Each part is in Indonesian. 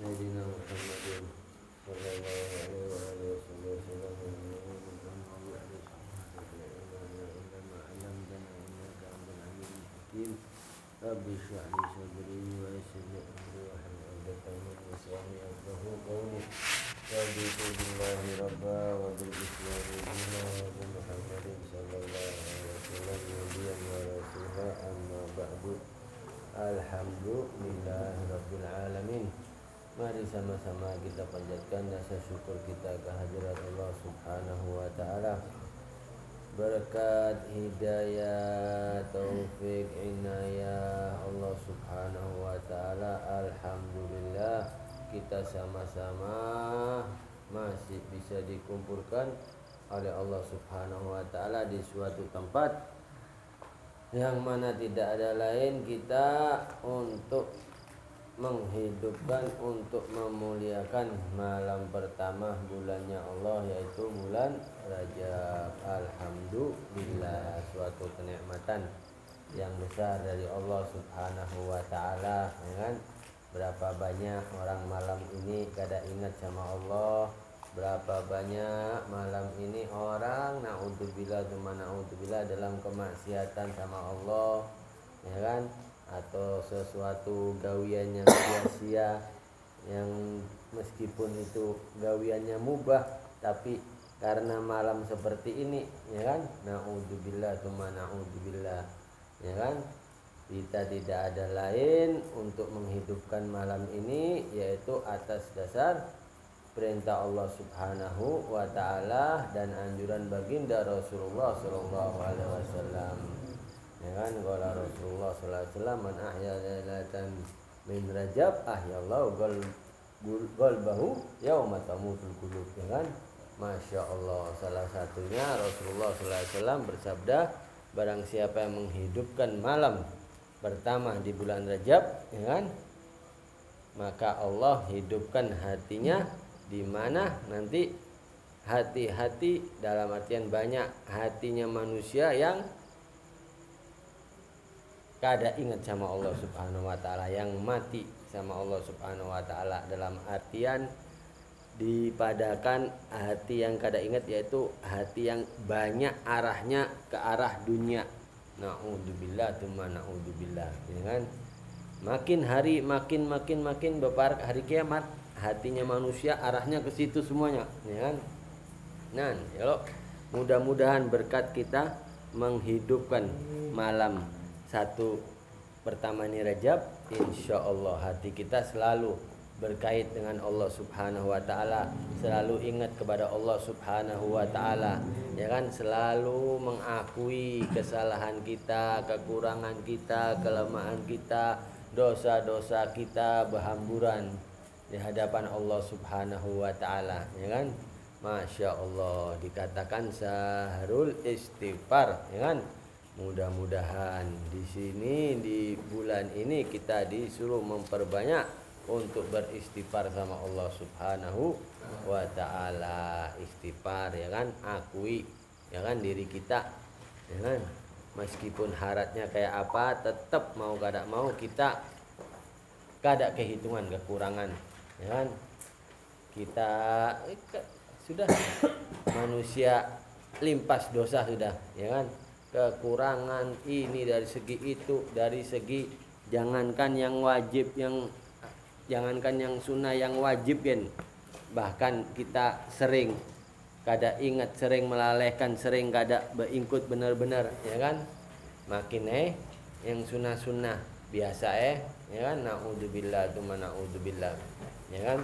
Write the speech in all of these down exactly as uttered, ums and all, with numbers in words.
سيدنا محمد صلى الله عليه وآله وسلم عندما علمتنا إنك أنت العليم الحكيم رب اشرح لي صدري ويسر لي أمري واحلل عقدة من لساني يفقهوا قولي رضيت بالله ربا وبالإسلام دينا وبمحمد صلى الله عليه وسلم نبيا ورسولا أما بعد. Alhamdulillahirabbil alamin. Mari sama-sama kita panjatkan rasa syukur kita kehadirat Allah Subhanahu wa taala. Berkat hidayah, taufik, inayah Allah Subhanahu wa taala, alhamdulillah kita sama-sama masih bisa dikumpulkan oleh Allah Subhanahu wa taala di suatu tempat yang mana tidak ada lain kita untuk menghidupkan, untuk memuliakan malam pertama bulannya Allah, yaitu bulan Rajab. Alhamdulillah, suatu kenikmatan yang besar dari Allah Subhanahu wa taala, ya kan? Berapa banyak orang malam ini kada ingat sama Allah, berapa banyak malam ini orang naudzubillah tsumma naudzubillah dalam kemaksiatan sama Allah, ya kan? Atau sesuatu gawian yang sia-sia, yang meskipun itu gawiannya mubah, tapi karena malam seperti ini, ya kan? Naudzubillah tsumma naudzubillah, ya kan? Kita tidak ada lain untuk menghidupkan malam ini, yaitu atas dasar perintah Allah Subhanahu wa taala dan anjuran baginda Rasulullah sallallahu alaihi wasallam. Ya kan, qala Rasulullah sallallahu alaihi wasallam, man ahya lailatan min Rajab ahyallahu qalbahu yauma tamutul qulub. Ya kan? Masya Allah, salah satunya Rasulullah sallallahu alaihi wasallam bersabda, barang siapa yang menghidupkan malam pertama di bulan Rajab, ya kan? Maka Allah hidupkan hatinya, di mana nanti hati-hati dalam artian banyak hatinya manusia yang kada ingat sama Allah Subhanahu wa taala, yang mati sama Allah Subhanahu wa taala, dalam artian dipadakan hati yang kada ingat, yaitu hati yang banyak arahnya ke arah dunia. Naudzubillah tsumma naudzubillah, ya kan? Makin hari makin makin makin beparak hari kiamat, hatinya manusia arahnya ke situ semuanya, ya kan? Nah, ya, mudah-mudahan berkat kita menghidupkan malam satu pertama ini Rajab, insya Allah hati kita selalu berkait dengan Allah Subhanahu wa taala, selalu ingat kepada Allah Subhanahu wa taala, ya kan? Selalu mengakui kesalahan kita, kekurangan kita, kelemahan kita, dosa-dosa kita berhamburan di hadapan Allah Subhanahu wa taala, ya kan? Masya Allah, dikatakan sahrul istighfar, ya kan? Mudah-mudahan di sini di bulan ini kita disuruh memperbanyak untuk beristighfar sama Allah Subhanahu wa taala. Istighfar, ya kan? Akui, ya kan, diri kita, ya kan? Meskipun haratnya kayak apa, tetap mau kada mau kita kada kehitungan kekurangan, ya kan? Kita eh, sudah manusia limpas dosa sudah, ya kan? Kekurangan ini dari segi itu, dari segi jangankan yang wajib, yang jangankan yang sunnah, yang wajib kan, bahkan kita sering kada ingat, sering melalaikan, sering kada beingkut benar-benar, ya kan? Makin eh yang sunnah-sunnah biasa eh, ya kan? Naudzubillah tsumma naudzubillah, ya kan?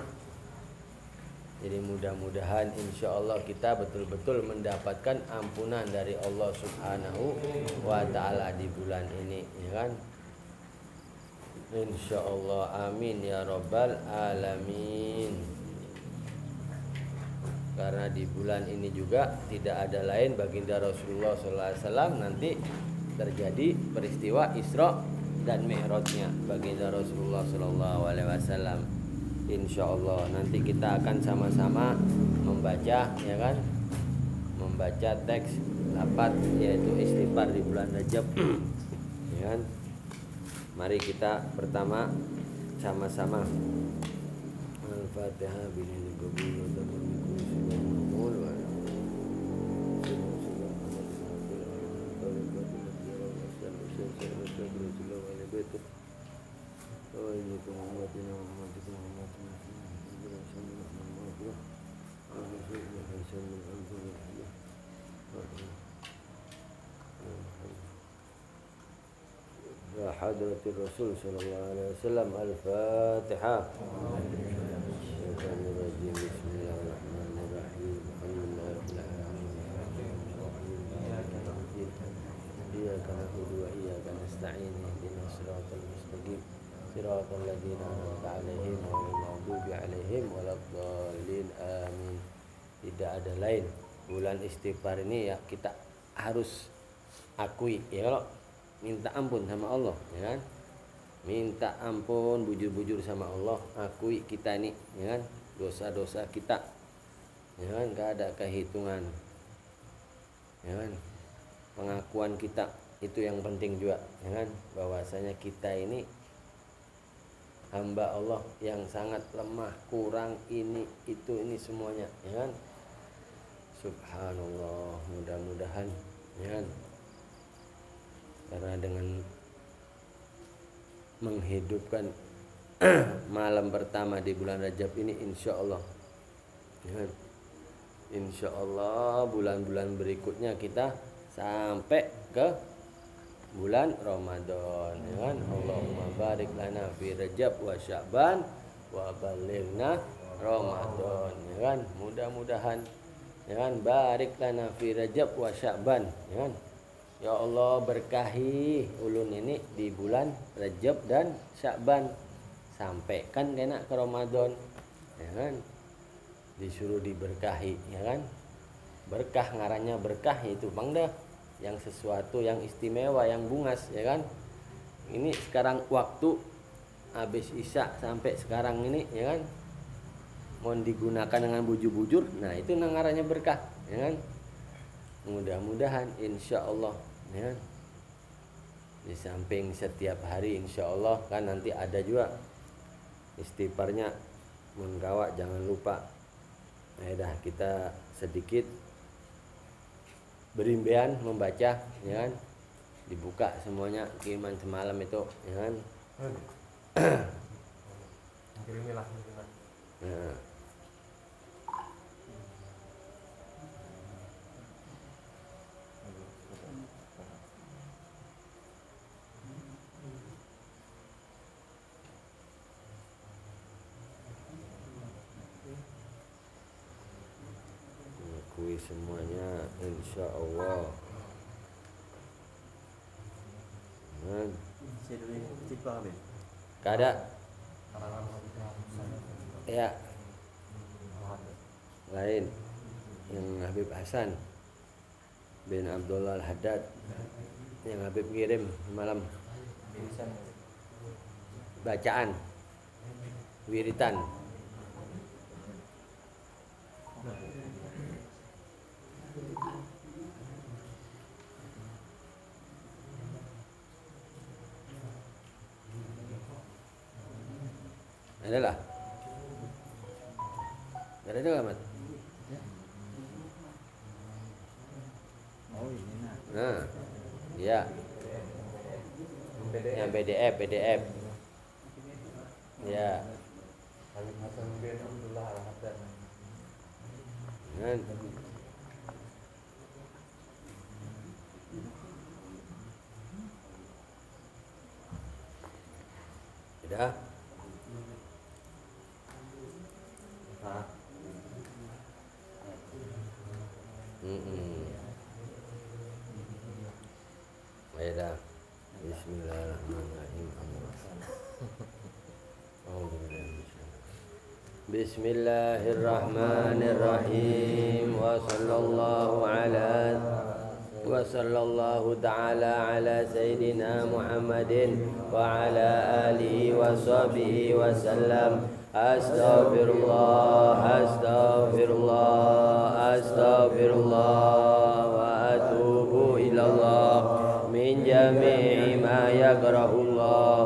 Jadi mudah-mudahan insya Allah kita betul-betul mendapatkan ampunan dari Allah Subhanahu wa taala di bulan ini, ya kan? Insya Allah, amin ya rabbal alamin. Karena di bulan ini juga tidak ada lain baginda Rasulullah sallallahu alaihi wasallam nanti terjadi peristiwa Isra dan Mi'rajnya baginda Rasulullah sallallahu alaihi wasallam. Insya Allah nanti kita akan sama-sama membaca, ya kan, membaca teks lapat yaitu istighfar di bulan Rajab, ya kan? Mari kita pertama sama-sama Al-Fatihah binil qabul wa tamam kulli shay'in maqbul wa ya hadratir Rasul sallallahu alaihi wasallam. Al-Fatihah. Bismillahirrahmanirrahim. Iyyaka na'budu wa iyyaka nasta'in. Ihdinas siratal mustaqim. Siratal ladzina an'amta 'alaihim ghairil maghdubi 'alaihim waladdallin. Amin. Tidak ada lain. Bulan istighfar ini ya kita harus akui ya, kalau minta ampun sama Allah ya kan, minta ampun bujur-bujur sama Allah, akui kita ini ya kan, dosa-dosa kita ya kan, gak ada kehitungan ya kan, pengakuan kita itu yang penting juga ya kan, bahwasanya kita ini hamba Allah yang sangat lemah, kurang ini itu ini semuanya ya kan. Subhanallah, mudah-mudahan ya kan, karena dengan menghidupkan malam pertama di bulan Rajab ini insya Allah ya kan, insya Allah bulan-bulan berikutnya kita sampai ke bulan Ramadan ya kan. Allahumma barik lana fi Rajab wa Sya'ban wa balighna Ramadan ya kan, mudah-mudahan ya kan, barik lana fi Rajab wa Sya'ban ya kan. Ya Allah berkahi ulun ini di bulan Rajab dan Sya'ban, sampaikan kena ke Ramadan ya kan, disuruh diberkahi ya kan. Berkah ngarannya berkah itu bang dah, yang sesuatu yang istimewa, yang bungas ya kan. Ini sekarang waktu habis Isya sampai sekarang ini ya kan, mau digunakan dengan bujur-bujur, nah itu ngarannya berkah ya kan. Mudah-mudahan insya Allah ya, di samping setiap hari insya Allah kan nanti ada juga istighfarnya mengkawak, jangan lupa ya dah, kita sedikit berimbean membaca ya kan, dibuka semuanya kiriman semalam itu ya kan. Kirimilah Nah. Akui semuanya insya Allah. Nah. Kada ya lain yang Habib Hasan bin Abdullah Al-Haddad yang Habib kirim malam, bacaan wiritan adalah ada juga Mat. Oh ini nah. Nah, iya. Yang P D F, P D F. Ya. Habib Hasan bin Abdullah Al-Haddad. Kan. Sudah. Nah. Hmm. Baiklah. Bismillahirrahmanirrahim. Bismillahirrahmanirrahim. Wa sallallahu ala wa sallallahu ta'ala ala sayyidina Muhammadin wa ala alihi wa sahbihi wa sallam. Astaghfirullah, astaghfirullah, astaghfirullah wa atubu ilallah min jami'i ma yakrahullah.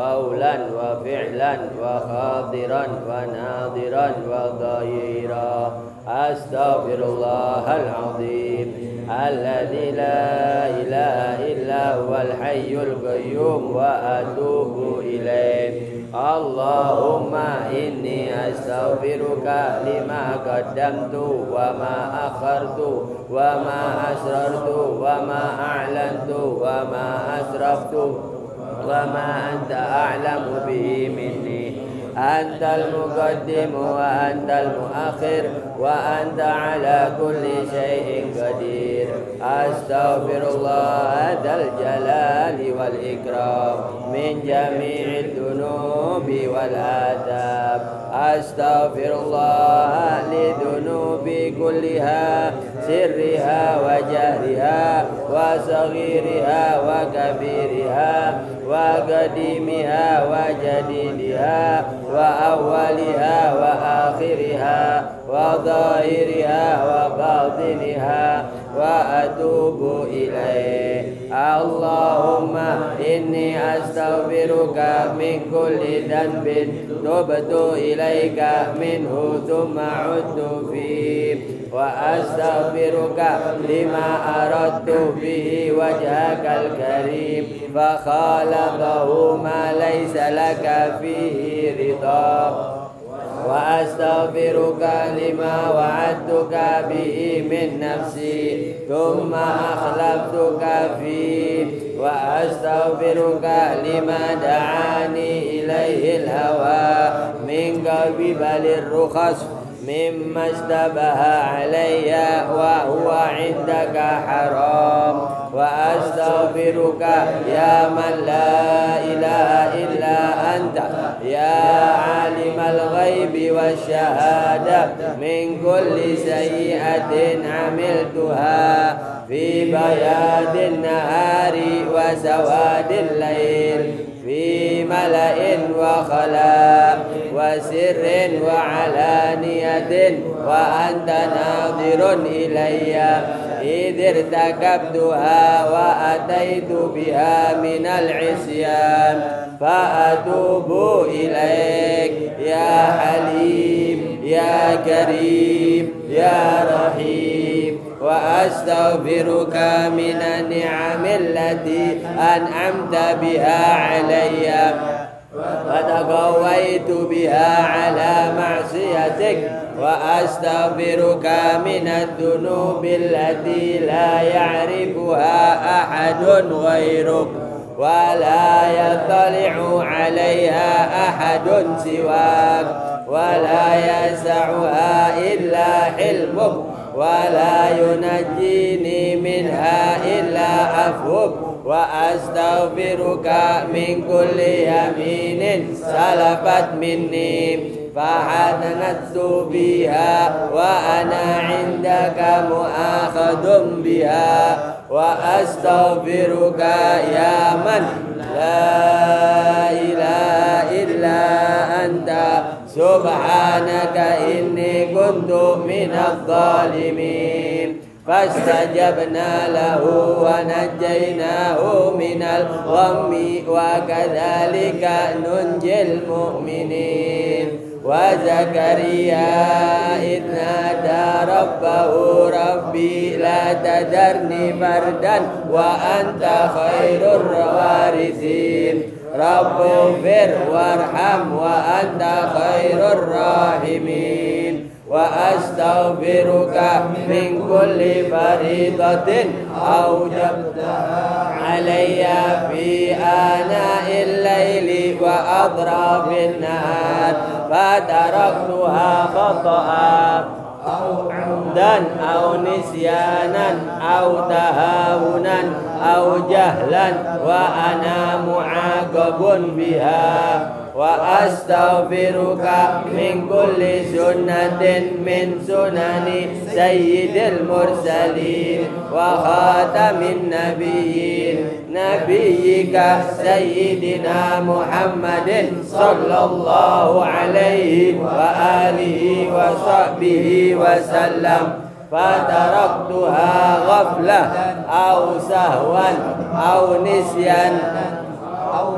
قولا وفعلا وخاطرا وناظرا وضيرا أستغفر الله العظيم الذي لا إله إلا هو الحي القيوم وأتوب إليه اللهم إني أستغفرك لما قدمت وما أخرت وما أسررت وما أعلنت وما أسرفت وما أنت أعلم به مني أنت المقدم وأنت المؤخر وأنت على كل شيء قدير أستغفر الله ذا الجلال والإكرام من جميع الذنوب والآثام أستغفر الله لذنوبي كلها سرها وجهرها وصغيرها وكبيرها وقديمها وجديدها وأولها وآخرها وظاهرها وباطنها وأتوب إليه اللهم إني أستغفرك من كل ذنب تبت إليك منه ثم عدت فيه وأستغفرك لما أردت به وجهك الكريم فخالفه ما ليس لك فيه رضا وأستغفرك لما وعدتك به من نفسي ثم أخلفتك فيه وأستغفرك لما دعاني إليه الهوى من قبل الرخص مما اشتبه علي وهو عندك حرام وأستغفرك يا من لا إله إلا أنت يا عالم الغيب والشهادة من كل سيئة عملتها في بياض النهار وسواد الليل في ملأ وخلاء وسر وعلانية وأنت ناظر إلي إذ ارتكبتها وأتيت بها من العصيان فأتوب إليك يا حليم يا كريم يا رحيم وأستغفرك من النعم التي أنعمت بها علي وتقويت بها على معصيتك وأستغفرك من الذنوب التي لا يعرفها أحد غيرك ولا يطلع عليها أحد سواك ولا يسعها إلا حلمك ولا ينجيني منها إلا عفوك وأستغفرك من كل يمين سلفت مني فحنثت بها وأنا عندك مؤاخذ بها وأستغفرك يا من لا إله إلا أنت سبحانك إني كنت من الظالمين فاستجبنا له ونجيناه من الغم وكذلك ننجي المؤمنين وزكريا إذ نادى ربه ربي لا تذرني فردا وأنت خير الوارثين رب اغفر وارحم وأنت خير الراحمين وأستغفرك من كل فريضة أوجبتها علي في آناء الليل وأطراف النهار فتركتها خطأ أو عمدا أو نسيانا أو تهاونا أو جهلا وأنا معاقب بها وأستغفرك من كل سنة من سنن سيد المرسلين وخاتم النبيين نبيك سيدنا محمد صلى الله عليه وآله وصحبه وسلم فتركتها غفلة أو سهوا أو نسيان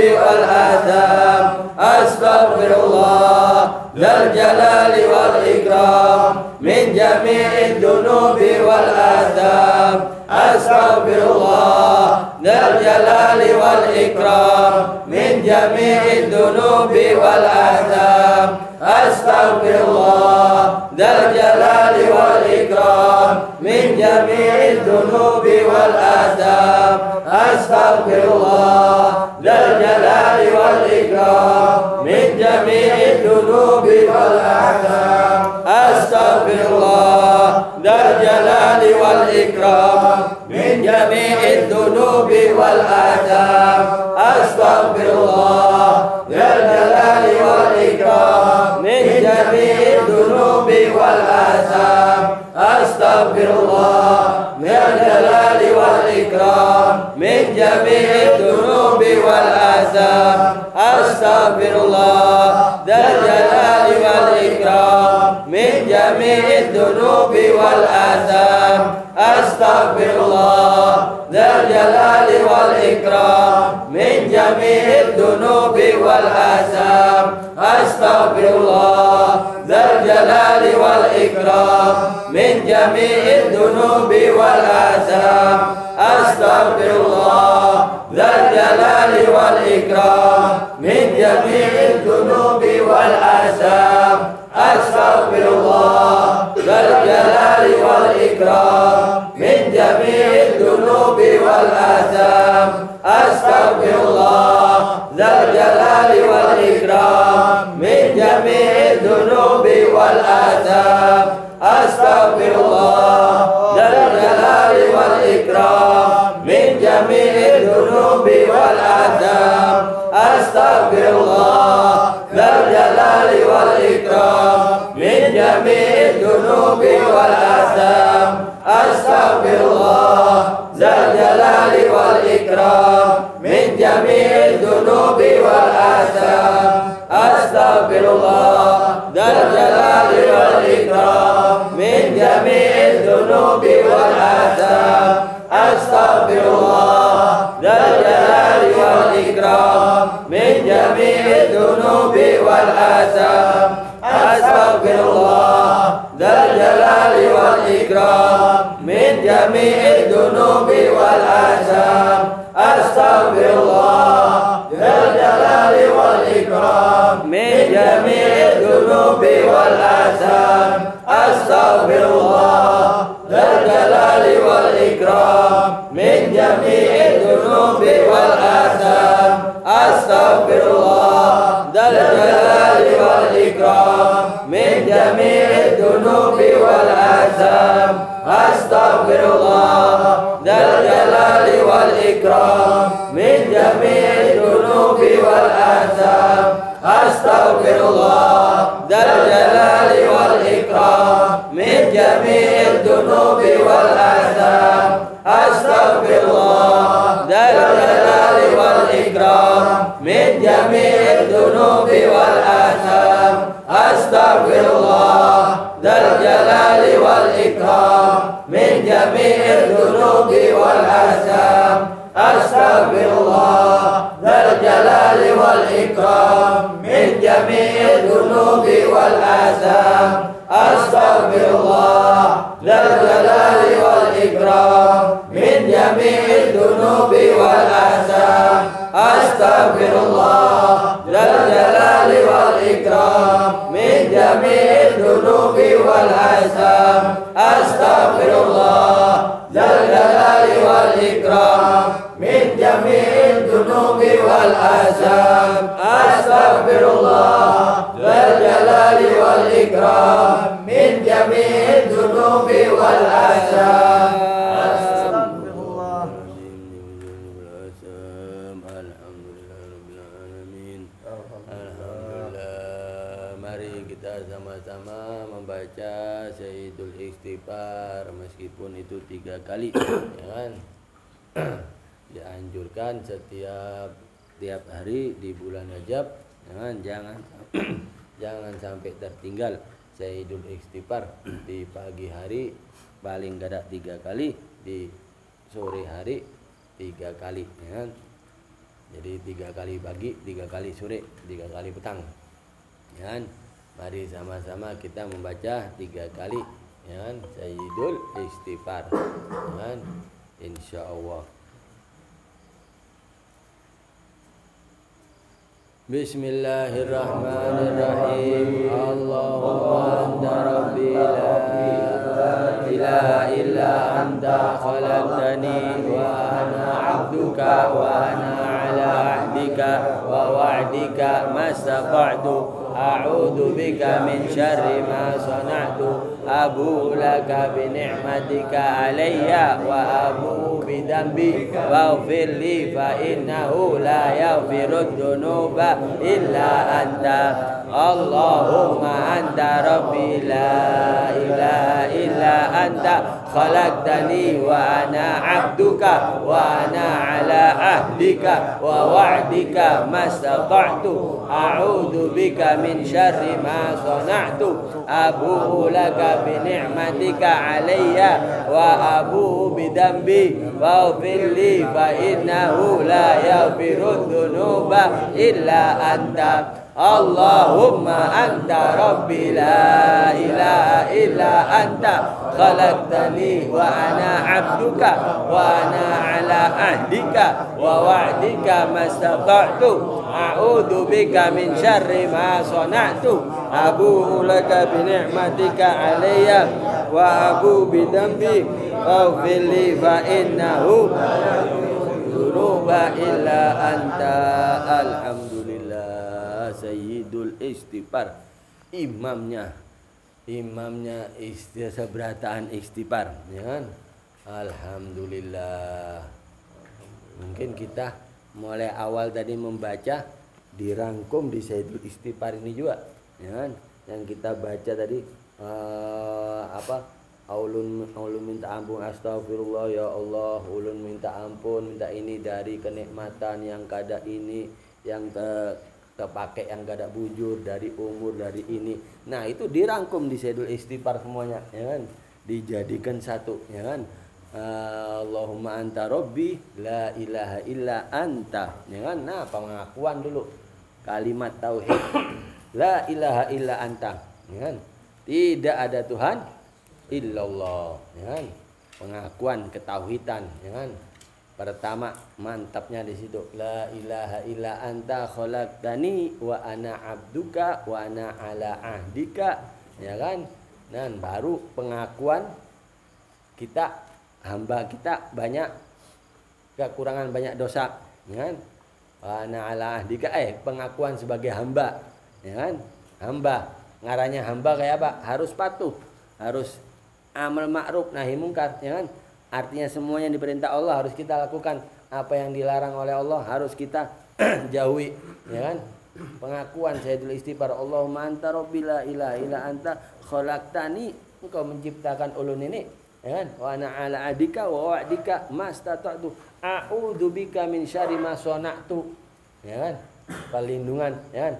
dunubi wal atham. Astaghfirullah dzal jalali wal ikram min jami'id dunubi wal atham. Astaghfirullah dzal jalali wal ikram min jami'id dunubi wal atham. Astaghfirullah dzal jalali wal ikram min jami'id dunubi wal atham. Astaghfirullah dzal jalali wal ikram min jami'id dunubi wal atham. Astaghfirullah dzal jalali wal ikram min jami'id dunubi wal atham. Astaghfirullah dzal jalali wal ikram min jami'id dunubi wal atham. Astaghfirullah dzal jalali wal ikram min jami'id dunubi wal atham. Astaghfirullah dzal jalali wal ikram min jami'id dunubi wal atham. Astaghfirullah dzal jalali wal ikram min jami'id dunubi wal atham. Astaghfirullah dzal jalali wal ikram min jami'id dunubi wal atham. Astaghfirullah dzal jalali wal ikram min jami'id dunubi wal atham. Astaghfirullah dzal jalali wal ikram min jami'id dunubi wal atham. Astaghfirullah dzal jalali wal ikram min jami'id dunubi wal atham. Astaghfirullah dzal jalali wal ikram min jami'id dunubi wal atham. Astaghfirullah dzal jalali wal ikram min jami'id dunubi wal atham. Astaghfirullah dzal jalali wal ikram min jami'id dunubi wal atham. Astaghfirullah dzal jalali wal ikram min jami'id dunubi wal atham. Astaghfirullah dzal jalali wal ikram min jami'id dunubi wal atham. Astaghfirullah dzal jalali wal ikram min jami'id dunubi wal atham. Astaghfirullah dzal jalali wal ikram min jami'id dunubi wal atham. Astaghfirullah dzal jalali wal ikram min jami'id dunubi wal atham. Astaghfirullah dzal jalali wal ikram min jami'id dunubi wal atham. Astaghfirullah dzal jalali wal ikram min jami'id dunubi wal atham. Astaghfirullah dzal jalali wal ikram min jami'id dunubi wal atham. Astaghfirullah dzal jalali wal ikram min jami'id dunubi wal atham. Astaghfirullah dzal jalali wal ikram min jami'id dunubi wal atham. Astaghfirullah dzal jalali wal ikram min jami'id dunubi wal atham. Astaghfirullah dzal jalali wal ikram min jami'id dunubi wal atham. Astaghfirullah dzal jalali wal ikram min jami'id dunubi wal atham. Astaghfirullah dzal jalali wal ikram min jami'id dunubi wal atham. Astaghfirullah dzal jalali wal ikram min jami'id dunubi wal atham. Sama-sama membaca Sayyidul Istighfar meskipun itu tiga kali, ya kan? Dianjurkan setiap tiap hari di bulan Rajab, ya kan? Jangan jangan sampai tertinggal Sayyidul Istighfar di pagi hari paling gak ada tiga kali, di sore hari tiga kali, ya kan? Jadi tiga kali pagi, tiga kali sore, tiga kali petang. Ya kan? Mari sama-sama kita membaca tiga kali, ya kan? Sayyidul Istighfar. Ya kan? Insyaallah. Bismillahirrahmanirrahim. Allahumma anta rabbi la ilaha illa anta khalaqtani wa ana 'abduka wa ana 'ala 'ahdika wa wa'dika mastata'tu a'udzu bika min syarri ma sana'tu abu laka bi ni'matika 'alayya wa abu bi dzambi waghfir li fa innahu la yaghfirud dzunuba illa anta. Allahumma anta rabbi la ilaha illa anta khalaqtani wa ana 'abduka wa ana 'ala ahdika wa wa'dika mastata'tu a'udzu bika min syarri ma sana'tu abu'u laka bi ni'matika 'alayya wa abu'u bi dzambi waghfir li fa innahu la yaghfirudz dzunuba illa anta. Allahumma anta rabbi la ilaha illa anta khalaqtani wa ana 'abduka wa ana 'ala ahdika wa wa'dika mastata'tu a'udzu bika min syarri ma sana'tu abu'u laka bi ni'matika 'alayya wa abu'u bi dzambi faghfir li fa innahu dzunuba illa anta. Alhamdulillah. Sayyidul Istighfar, imamnya imamnya istighfar, seberataan istighfar, ya kan? Alhamdulillah. Mungkin kita mulai awal tadi membaca dirangkum di Sayyidul Istighfar ini juga, ya kan? Yang kita baca tadi uh, apa? Ulun ulun minta ampun, astagfirullah ya Allah, ulun minta ampun, minta ini dari kenikmatan yang kada ini, yang ke kepakai yang gak ada bujur, dari umur, dari ini. Nah itu dirangkum di Sayyidul Istighfar semuanya, ya kan? Dijadikan satu, ya kan? Allahumma anta rabbi la ilaha illa anta, ya kan? Nah pengakuan dulu kalimat tauhid la ilaha illa anta, ya kan? Tidak ada Tuhan illallah, ya kan? Pengakuan ketauhidan, ya kan? Pertama mantapnya di situ la ilaha illa anta khalaqtani wa ana 'abduka wa ana 'ala ahdika, ya kan? Dan baru pengakuan kita hamba kita banyak kekurangan, banyak dosa, ya kan? Wa ana 'ala ahdika, eh pengakuan sebagai hamba, ya kan? Hamba, ngaranya hamba kayak apa? Harus patuh, harus amal ma'ruf nahi mungkar, ya kan? Artinya semuanya diperintah Allah harus kita lakukan, apa yang dilarang oleh Allah harus kita jauhi, ya kan? Pengakuan Sayyidul Istighfar, Allahumma anta rabbi la ilaha illa anta khalaqtani, engkau menciptakan ulun ini, ya kan? Wa ana 'ala adika wa wa'dika mastata'tu a'udzu bika min syarri ma sana'tu, ya kan? Perlindungan, ya kan?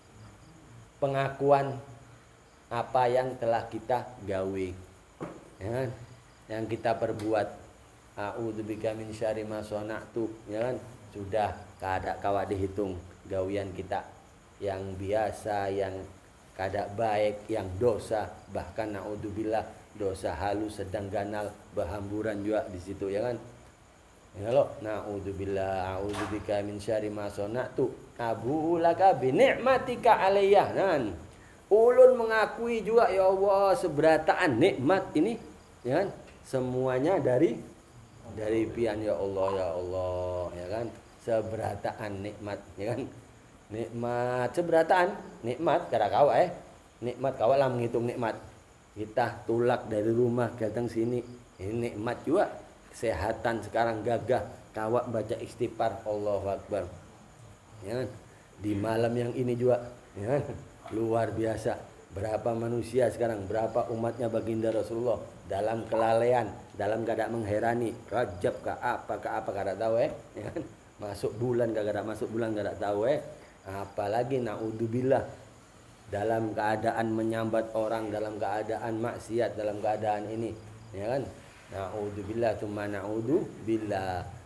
Pengakuan apa yang telah kita gawe, ya kan? Yang kita perbuat, a'udzubika min syarri ma sana'tu, ya kan? Sudah kada kawa dihitung gawian kita yang biasa, yang kada baik, yang dosa, bahkan naudzubillah dosa halus sedang ganal berhamburan juga di situ, ya kan? Ya lo, naudzubillah, a'udzubika min syarri ma sana'tu abu'u laka bi ni'matika 'alayya. Nah, ulun mengakui juga ya Allah seberataan nikmat ini, ya kan? Semuanya dari dari pian ya Allah, ya Allah, ya kan? Seberataan nikmat, ya kan? Nikmat seberataan nikmat kada kawa eh nikmat kawa lah menghitung nikmat. Kita tulak dari rumah datang sini, ini nikmat juga. Kesehatan sekarang gagah, kawa baca istighfar, Allahu Akbar, ya kan? Di malam yang ini juga, ya kan? Luar biasa. Berapa manusia sekarang, berapa umatnya baginda Rasulullah dalam kelalaian, dalam keadaan mengherani, Rajab ke apa ke apa kada tahu eh, ya kan? Masuk bulan gak ada masuk bulan gak tahu eh. Apalagi naudzubillah dalam keadaan menyambat orang, dalam keadaan maksiat, dalam keadaan ini, ya kan? Naudzubillah, cuma naudzubillah.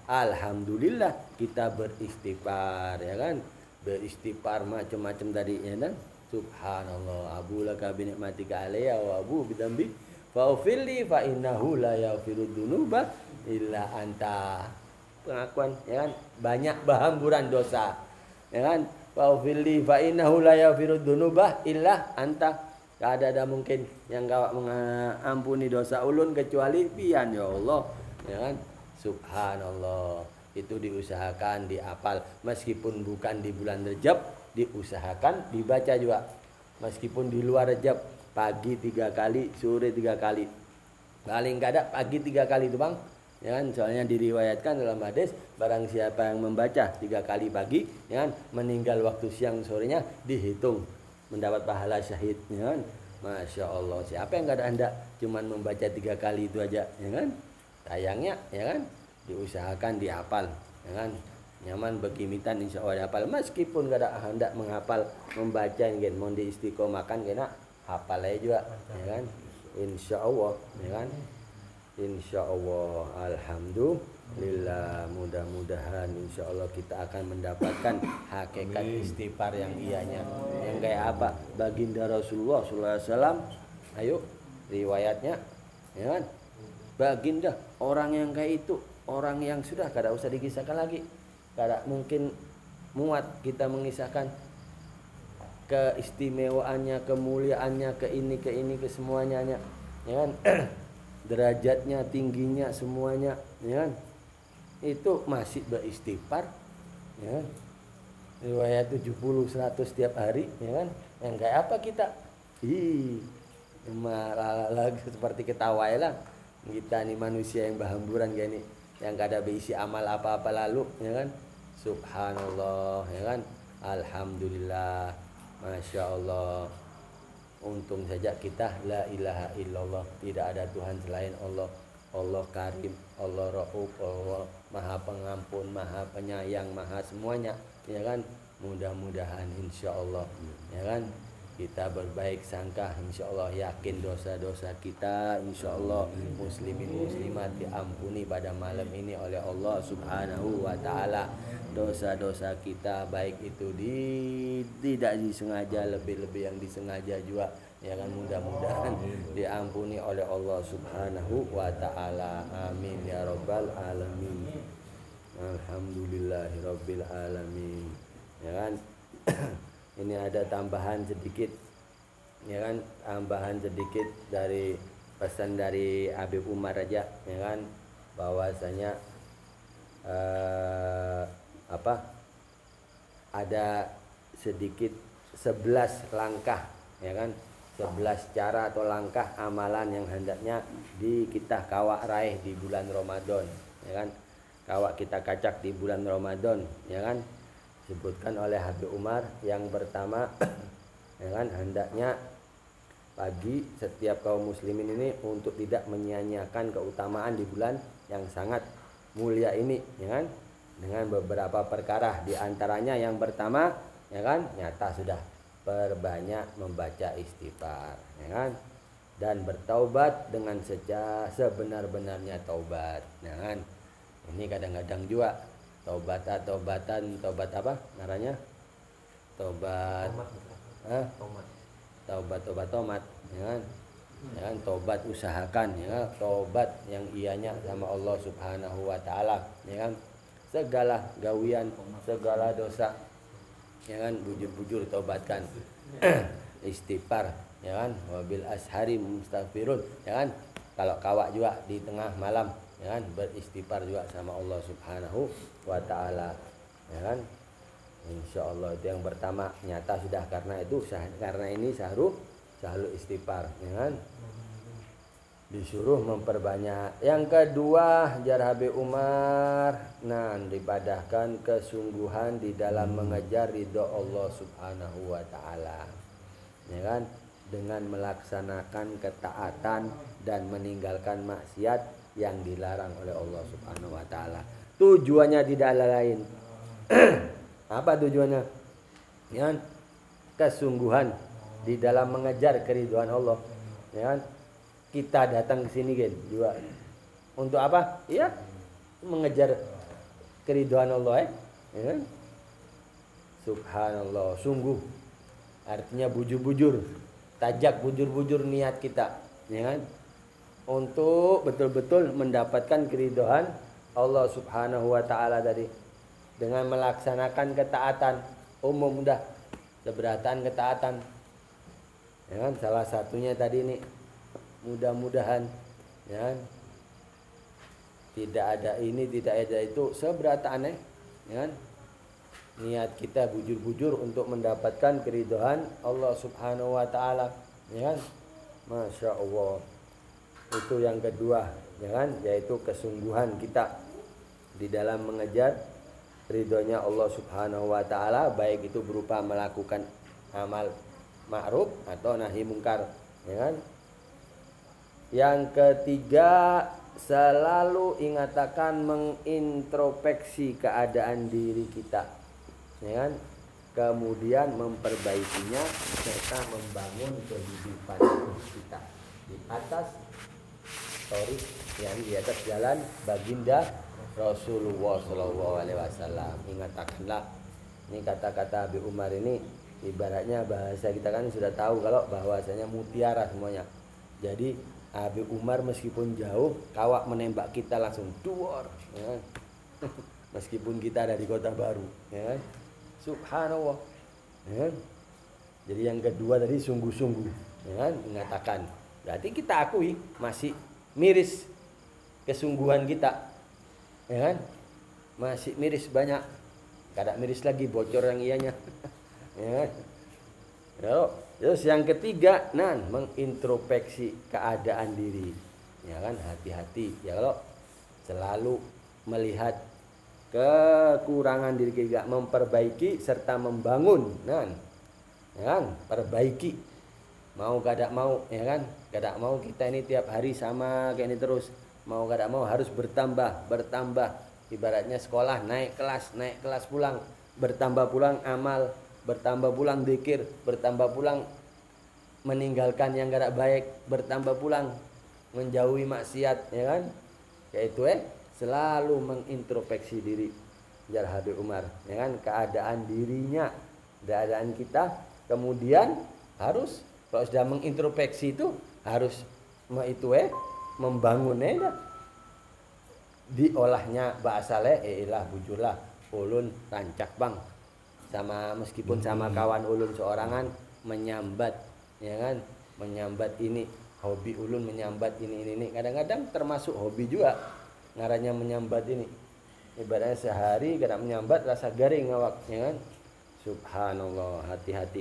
alhamdulillah kita beristighfar, ya kan? Beristighfar macam-macam tadi, ya kan? Subhanallah, abu laka bi ni'matika alayya wa abu bidambi faufilli fa innahu la yaghfiru dzunuba illa anta. Pengakuan, ya kan? Banyak berhamburan dosa, ya kan? Faufilli fa innahu la yaghfiru dzunuba illa anta. Gak ada ada mungkin yang kawak mengampuni dosa ulun kecuali pian, ya Allah, ya kan? Subhanallah. Itu diusahakan diapal meskipun bukan di bulan Rejab, diusahakan dibaca juga meskipun di luar Rejab, pagi tiga kali, sore tiga kali, paling nggak ada pagi tiga kali itu bang, ya kan? Soalnya diriwayatkan dalam hadis barang siapa yang membaca tiga kali pagi, ya kan, meninggal waktu siang sorenya dihitung mendapat pahala syahid, ya kan? Masya Allah, siapa yang nggak ada hendak cuman membaca tiga kali itu aja, ya kan? Sayangnya, ya kan, diusahakan dihafal, ya kan? Nyaman begimitan insya Allah dihafal meskipun gak ada hendak menghafal membaca, kan? Mau diistiqomahkan kena hafal aja juga, ya kan? Insya Allah, ya kan? Insya Allah, alhamdulillah, mudah-mudahan insya Allah kita akan mendapatkan hakikat istighfar yang ianya, yang kayak apa? Baginda Rasulullah shallallahu alaihi wasallam, ayo riwayatnya, ya kan? Baginda orang yang kayak itu, orang yang sudah kada usah dikisahkan lagi, kada mungkin muat kita mengisahkan keistimewaannya, kemuliaannya, ke ini ke ini ke semuanya, ya kan? Derajatnya, tingginya, semuanya, ya kan? Itu masih beristighfar, ya kan? Riwayat tujuh puluh seratus setiap hari, ya kan? Yang kayak apa kita? Ih, malah lagi seperti ketawa lah. Kita nih manusia yang berhamburan gini, yang kada berisi amal apa-apa lalu, ya kan? Subhanallah, ya kan? Alhamdulillah, masya Allah. Untung saja kita la ilaha illallah, tidak ada Tuhan selain Allah. Allah Karim, Allah Rauf, Allah Maha Pengampun, Maha Penyayang, Maha semuanya, ya kan? Mudah-mudahan insya Allah, ya kan? Kita berbaik sangka, insya Allah, yakin dosa-dosa kita, insya Allah muslimin muslimat diampuni pada malam ini oleh Allah subhanahu wa ta'ala. Dosa-dosa kita baik itu di, tidak disengaja, lebih-lebih yang disengaja juga, ya kan? Mudah-mudahan diampuni oleh Allah subhanahu wa ta'ala. Amin ya rabbal alamin. Alhamdulillahi rabbil alamin, ya kan? Ini ada tambahan sedikit, ya kan? Tambahan sedikit dari pesan dari Habib Umar aja, ya kan? Bahwasanya eh, apa? Ada sedikit sebelas langkah, ya kan? sebelas cara atau langkah amalan yang hendaknya di kita kawak raih di bulan Ramadan, ya kan? Kawak kita kacak di bulan Ramadan, ya kan? Disebutkan oleh Habib Umar yang pertama, ya kan, hendaknya pagi setiap kaum muslimin ini untuk tidak menyia-nyiakan keutamaan di bulan yang sangat mulia ini, ya kan, dengan beberapa perkara. Di antaranya yang pertama, ya kan, nyata sudah perbanyak membaca istighfar, ya kan, dan bertaubat dengan seja sebenar-benarnya taubat, ya kan. Ini kadang-kadang juga taubat taubatan taubat apa namanya, taubat ah taubat taubat tomat, ya kan, ya kan, taubat usahakan, ya kan, taubat yang ianya sama Allah subhanahu wa ta'ala, ya kan, segala gawian, segala dosa, ya kan, bujur-bujur taubatkan. Istighfar, ya kan, wabil ashari mustaghfirun, ya kan, kalau kawak juga di tengah malam, ya kan, beristighfar juga sama Allah subhanahu wa ta'ala, ya kan. Insya Allah itu yang pertama, nyata sudah, karena itu karena ini sahru sahlu istighfar, ya kan, disuruh memperbanyak. Yang kedua, jar Habib Umar, nah, dipadahkan kesungguhan di dalam mengejar ridho Allah subhanahu wa ta'ala, ya kan, dengan melaksanakan ketaatan dan meninggalkan maksiat yang dilarang oleh Allah subhanahu wa ta'ala. Tujuannya tidak lain. Apa tujuannya? Ya, kesungguhan di dalam mengejar keridhaan Allah, ya kan. Kita datang ke sini kan juga untuk apa? Ya, mengejar keridhaan Allah eh? Ya kan? Subhanallah, sungguh artinya bujur-bujur, tajak bujur-bujur niat kita, ya kan? Untuk betul-betul mendapatkan keridhaan Allah Subhanahu wa taala tadi dengan melaksanakan ketaatan umum dah, keberatan ketaatan. Ya kan? Salah satunya tadi nih, mudah-mudahan ya kan? Tidak ada ini, tidak ada itu, seberataan eh, ya kan? Niat kita bujur-bujur untuk mendapatkan keridhaan Allah Subhanahu wa taala, ya kan? Masya Allah. Itu yang kedua, ya kan? Yaitu kesungguhan kita di dalam mengejar ridhonya Allah Subhanahu wa taala, baik itu berupa melakukan amal ma'ruf atau nahi mungkar, ya kan? Yang ketiga, selalu ingatakan mengintrospeksi keadaan diri kita, ya kan? Kemudian memperbaikinya serta membangun kehidupan kita di atas story yang di atas jalan baginda Rasulullah Shallallahu Alaihi Wasallam. Ingatkanlah, ini kata-kata Abi Umar ini ibaratnya bahasa kita kan sudah tahu kalau bahwasanya mutiara semuanya. Jadi Abi Umar meskipun jauh kawak menembak kita langsung duor, ya kan? Meskipun kita dari kota baru, ya kan? Subhanallah, ya kan? Jadi yang kedua tadi sungguh-sungguh, ya kan? Mengatakan berarti kita akui masih miris kesungguhan kita, ya kan? Masih miris banyak, kada miris lagi bocor yang ianya. Ya kan? Terus yang ketiga, nan mengintrospeksi keadaan diri, ya kan? Hati-hati ya kalau selalu melihat kekurangan diri kita, memperbaiki serta membangun, nan, ya kan? Perbaiki, mau kada mau, ya kan? Kada mau kita ini tiap hari sama kayak ini terus, mau kada mau harus bertambah, bertambah. Ibaratnya sekolah naik kelas, naik kelas pulang, bertambah pulang amal, bertambah pulang zikir, bertambah pulang meninggalkan yang kada baik, bertambah pulang menjauhi maksiat, ya kan? Yaitu eh selalu mengintrospeksi diri, jar Habib Umar, ya kan? Keadaan dirinya, keadaan kita, kemudian harus kalau sudah mengintrospeksi itu harus itu eh membangunnya, diolahnya bahasa le, eh ilah bujurlah ulun rancak bang, sama meskipun sama kawan ulun seorangan menyambat, ya kan? Menyambat ini hobi ulun, menyambat ini ini ini. Kadang-kadang termasuk hobi juga ngarannya menyambat ini. Ibaratnya sehari kadang menyambat rasa garing awak, ya kan? Subhanallah, hati-hati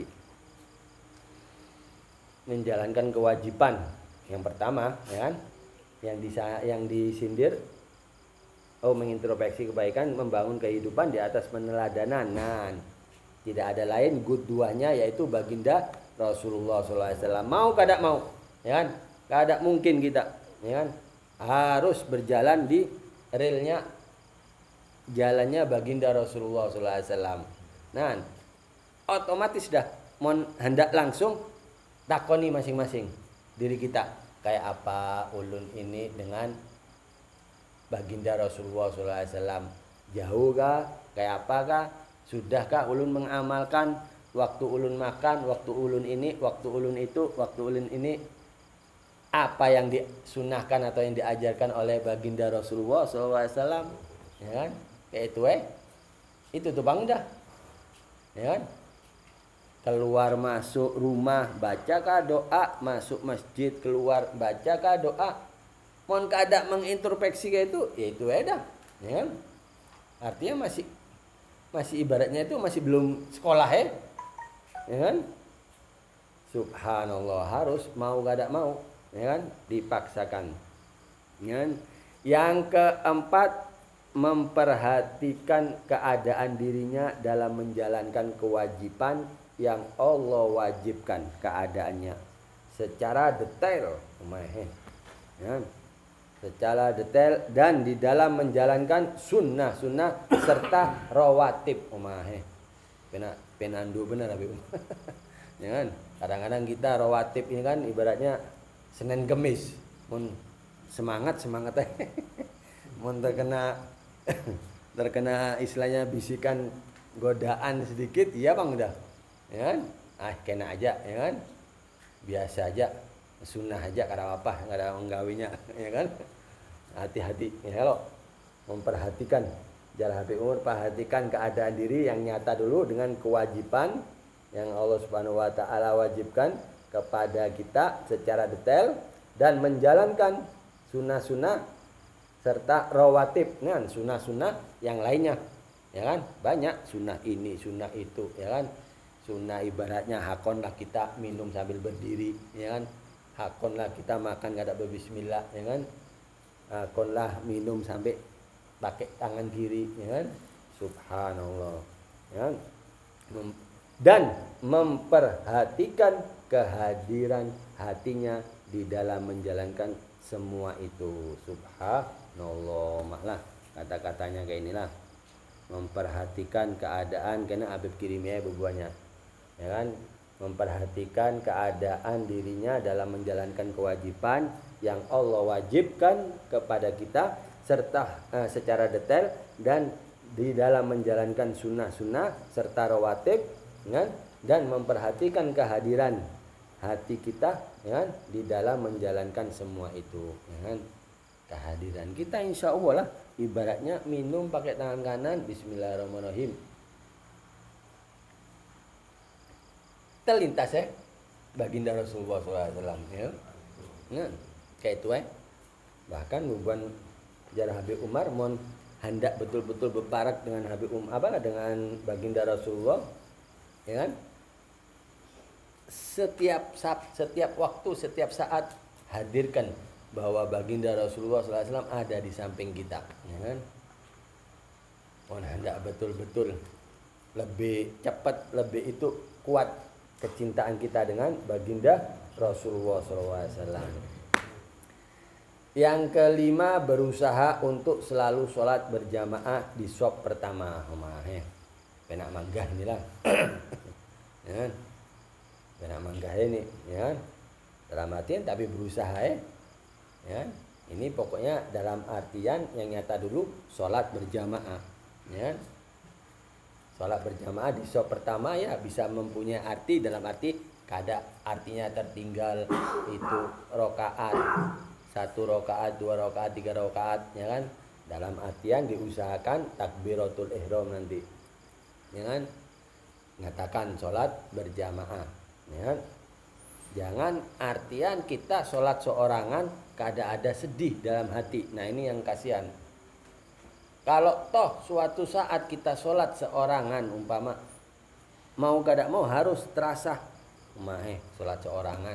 menjalankan kewajiban. Yang pertama, ya kan? Yang disa yang disindir, oh mengintrospeksi kebaikan, membangun kehidupan di atas peneladanan. Nah, tidak ada lain good duanya yaitu baginda Rasulullah shallallahu alaihi wasallam. Mau kada mau, ya kan? Kada mungkin kita, ya kan? Harus berjalan di relnya jalannya baginda Rasulullah shallallahu alaihi wasallam. Nah, otomatis dah mon hendak langsung takoni masing-masing diri kita, kayak apa ulun ini dengan baginda Rasulullah shallallahu alaihi wasallam, jauh kah, kayak apakah, sudahkah ulun mengamalkan waktu ulun makan, waktu ulun ini, waktu ulun itu, waktu ulun ini, apa yang disunahkan atau yang diajarkan oleh baginda Rasulullah shallallahu alaihi wasallam, ya kan? Kayak itu eh itu tuh bang dah, ya kan? Keluar masuk rumah bacakah doa, masuk masjid keluar bacakah doa, mohon kada mengintrospeksi kayak itu, ya itu eh dah, ya kan? Artinya masih masih ibaratnya itu masih belum sekolah eh, ya kan? Subhanallah, harus mau kada mau, ya kan? Dipaksakan, ya kan? Yang keempat, memperhatikan keadaan dirinya dalam menjalankan kewajiban yang Allah wajibkan keadaannya secara detail, ya, secara detail dan di dalam menjalankan sunnah-sunnah serta rawatib, umahe pena penandu benar Abi. Ya kan? Kadang-kadang kita rawatib ini kan ibaratnya Senin Kemis, mun semangat semangat mun terkena terkena istilahnya bisikan godaan sedikit, iya bang udah, ya kan? Ah kena aja, ya kan? Biasa aja, sunnah aja, karena apa? Nggak ada menggawinya, ya kan? Hati-hati, ya lo memperhatikan jalan Habib Umar, perhatikan keadaan diri yang nyata dulu dengan kewajiban yang Allah Subhanahu Wa Taala wajibkan kepada kita secara detail dan menjalankan sunnah-sunnah serta rawatib, kan? Sunnah-sunnah yang lainnya, ya kan? Banyak sunnah ini, sunnah itu, ya kan? Sunnah ibaratnya hakonlah kita minum sambil berdiri, ya kan? Hakonlah kita makan nggak ada berbismillah, ya kan? Hakonlah minum sampai pakai tangan kiri, ya kan? Subhanallah, ya kan? Dan memperhatikan kehadiran hatinya di dalam menjalankan semua itu. Subhanallah, maklah kata-katanya kayak inilah, memperhatikan keadaan, karena Habib kirimnya bebuahnya, ya kan? Memperhatikan keadaan dirinya dalam menjalankan kewajiban yang Allah wajibkan kepada kita serta eh, secara detail, dan di dalam menjalankan sunnah-sunnah serta rawatib, ya kan? Dan memperhatikan kehadiran hati kita, ya kan? Di dalam menjalankan semua itu, ya kan? Kehadiran kita insya Allah lah ibaratnya minum pakai tangan kanan, bismillahirrahmanirrahim, terlintas ya baginda Rasulullah shallallahu alaihi wasallam, ya. Nah, kayak itu ya. Bahkan hubungan jarah Habib Umar mon hendak betul-betul berparak dengan Habib Umar, apa dengan baginda Rasulullah, ya kan? Setiap saat, setiap waktu, setiap saat hadirkan bahwa baginda Rasulullah shallallahu alaihi wasallam ada di samping kita, ya kan? Mon hendak betul-betul lebih cepat, lebih itu kuat kecintaan kita dengan baginda Rasulullah shallallahu alaihi wasallam. Yang kelima, berusaha untuk selalu sholat berjamaah di shop pertama. Omah ya, penak manggah inilah, ya kan? Penak manggah ini, ya kan? Dalam artian tapi berusaha ya, ya kan? Ini pokoknya dalam artian yang nyata dulu sholat berjamaah, ya kan? Sholat berjamaah di shop pertama ya bisa mempunyai arti dalam arti kada artinya tertinggal itu rokaat, satu rokaat, dua rokaat, tiga rokaat, ya kan? Dalam artian diusahakan takbiratul ihram nanti, ya kan? Mengatakan sholat berjamaah, ya kan? Jangan artian kita sholat seorangan kada ada sedih dalam hati. Nah ini yang kasihan. Kalau toh suatu saat kita sholat seorangan umpama mau kada mau harus terasa, umahe sholat seorangan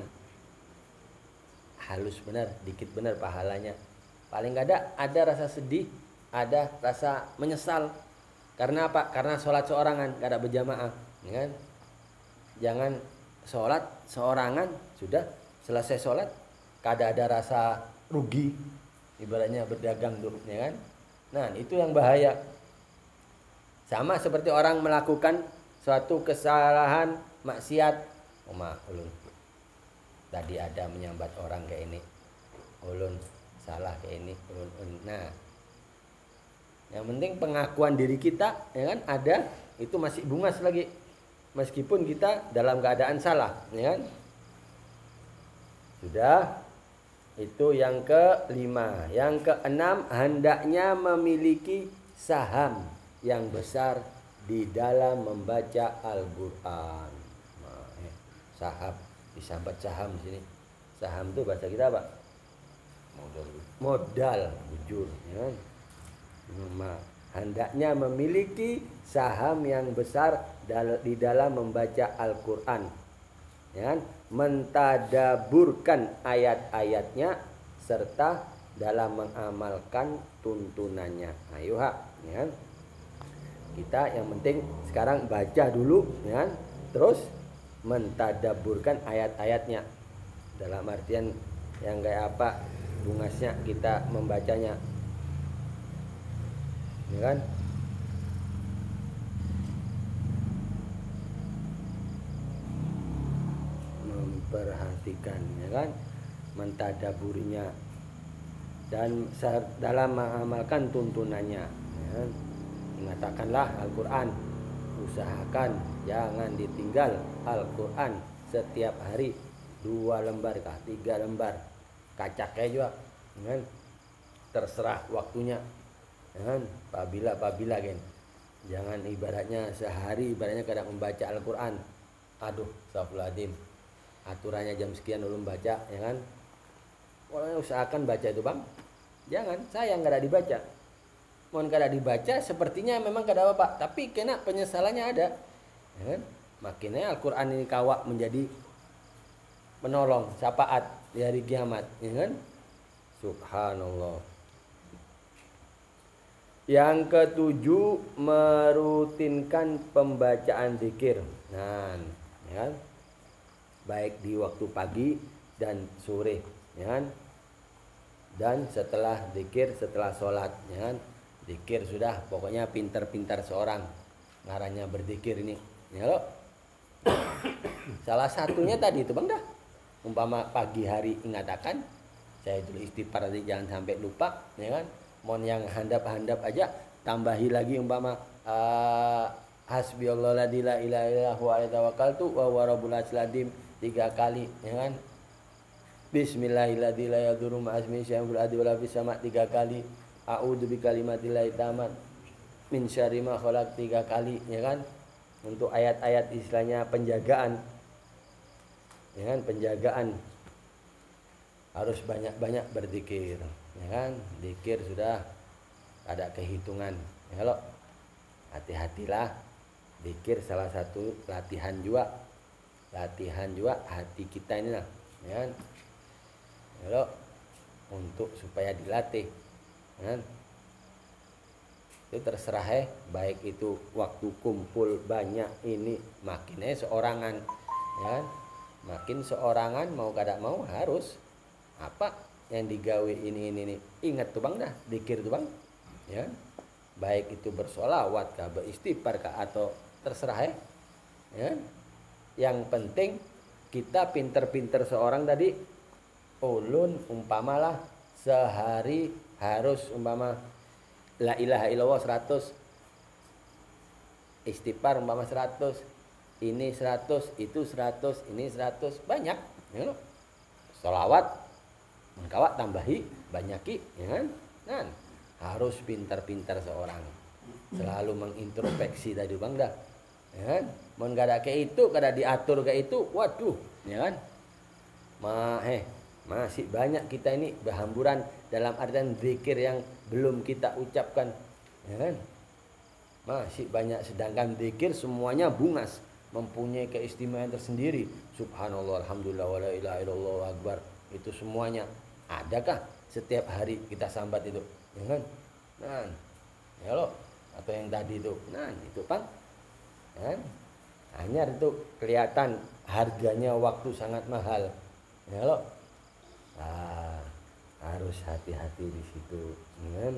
halus benar, dikit benar pahalanya. Paling kada ada rasa sedih, ada rasa menyesal. Karena apa? Karena sholat seorangan, kada berjamaah, ya kan? Jangan sholat seorangan sudah selesai sholat kada ada rasa rugi, ibaratnya berdagang tuh, ya kan? Nah itu yang bahaya. Sama seperti orang melakukan suatu kesalahan maksiat, Oma ulun tadi ada menyambat orang kayak ini, ulun salah kayak ini, ulun, ulun. Nah yang penting pengakuan diri kita, ya kan, ada itu masih bungas lagi meskipun kita dalam keadaan salah, ya kan? Sudah. Itu yang kelima. Yang keenam, hendaknya memiliki saham yang besar di dalam membaca Al-Quran. Nah, eh, saham, disambat saham di sini. Saham itu bahasa kita apa? Modal. Modal, bujur. Ya. Nah, hendaknya memiliki saham yang besar di dalam membaca Al-Quran, ya, mentadaburkan ayat-ayatnya serta dalam mengamalkan tuntunannya. Ayo ha, ya. Kita yang penting sekarang baca dulu, ya, terus mentadaburkan ayat-ayatnya. Dalam artian yang kayak apa bungasnya kita membacanya, ya kan? Memperhatikan, ya kan? Mentadaburinya dan dalam mengamalkan tuntunannya, ya kan? Mengatakanlah Al-Quran, usahakan jangan ditinggal Al-Quran setiap hari dua lembar kah, tiga lembar, kacaknya juga, kan? Terserah waktunya, kan? Pabila pabila kan, jangan ibaratnya sehari ibaratnya kadang membaca Al-Quran, aduh, astagfirullahaladzim, aturannya jam sekian dulu membaca, ya kan? Pokoknya usahakan baca itu bang, jangan sayang kada dibaca. Mohon kada dibaca, sepertinya memang kada apa, tapi kena penyesalannya ada, ya kan? Makinnya Al-Quran ini kawak menjadi menolong, syafaat di hari kiamat, ya kan? Subhanallah. Yang ketujuh, merutinkan pembacaan zikir. Nah, ya kan? Baik di waktu pagi dan sore, ya kan? Dan setelah zikir, setelah sholat, ya kan? Zikir sudah, pokoknya pintar-pintar seorang ngarannya berzikir ini, ya loh. Salah satunya tadi itu bang dah, umpama pagi hari ingatakan saya itu istighfar tadi, jangan sampai lupa, ya kan? Mohon yang handap-handap aja tambahi lagi umpama uh, hasbiyallahu la ilaha illa huwa alaihi tawakkaltu wa huwa rabbul arsyil azim tiga kali, ya kan? Bismillahirrahmanirrahim la yadurru ma'asmi syai'un fil ardi wala fis sama' tiga kali. A'udzu bikalimatillahi tammat min syarri ma khalaq tiga kali, ya kan? Untuk ayat-ayat istilahnya penjagaan, ya kan? Penjagaan harus banyak-banyak berzikir, ya kan? Zikir sudah ada kehitungan, ya lo. Hati-hatilah, zikir salah satu latihan juga, latihan juga hati kita ini lah, ya kan? Ya lo, untuk supaya dilatih, ya kan? Itu terserah eh, baik itu waktu kumpul banyak ini makinnya seorangan, ya kan? Makin seorangan mau kada mau harus apa yang digawe ini ini ini ingat tuh bang dah, zikir tuh bang, ya, baik itu bersolawat kah, beristighfar kah, atau terserah eh, ya. Yang penting kita pinter-pinter seorang tadi, ulun umpamalah sehari harus umpama la ilaha illallah seratus, istighfar umpama seratus, ini seratus, itu seratus, ini seratus, banyak, ya loh. Sholawat mengkawat tambahi banyaki, ya kan? Nah, harus pintar-pintar seorang selalu mengintrospeksi tadi bang dah, ya kan? Mun kada kayak itu, kada diatur kayak itu, waduh, ya kan? Ma eh masih banyak kita ini berhamburan dalam artian zikir yang belum kita ucapkan, ya kan? Masih banyak, sedangkan zikir semuanya bungas, mempunyai keistimewaan tersendiri. Subhanallah, alhamdulillah, wala ilaha illallah akbar. Itu semuanya adakah setiap hari kita sambat itu, ya kan? Nah, ya lo, atau yang tadi itu, nah itu bang, ya kan? Hanya itu kelihatan harganya waktu sangat mahal, ya lo. Nah, harus hati-hati di situ, ya kan?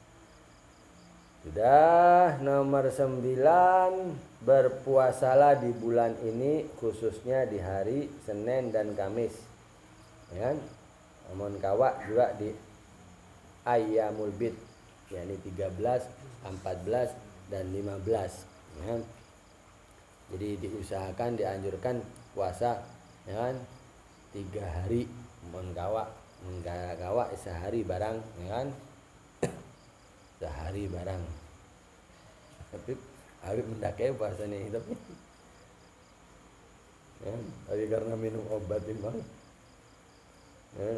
Sudah nomor sembilan, berpuasalah di bulan ini khususnya di hari Senin dan Kamis, ya kan? Namun kawak juga di Ayyamul Bid, yakni tiga belas, empat belas dan lima belas, ya kan? Jadi diusahakan, dianjurkan puasa, ya kan? Tiga hari, namun kawak, enggak kawak sehari barang, ya kan? Sehari barang. Tapi Habib mendakai puasa nih, tapi ya, tapi karena minum obat ini bang, ya.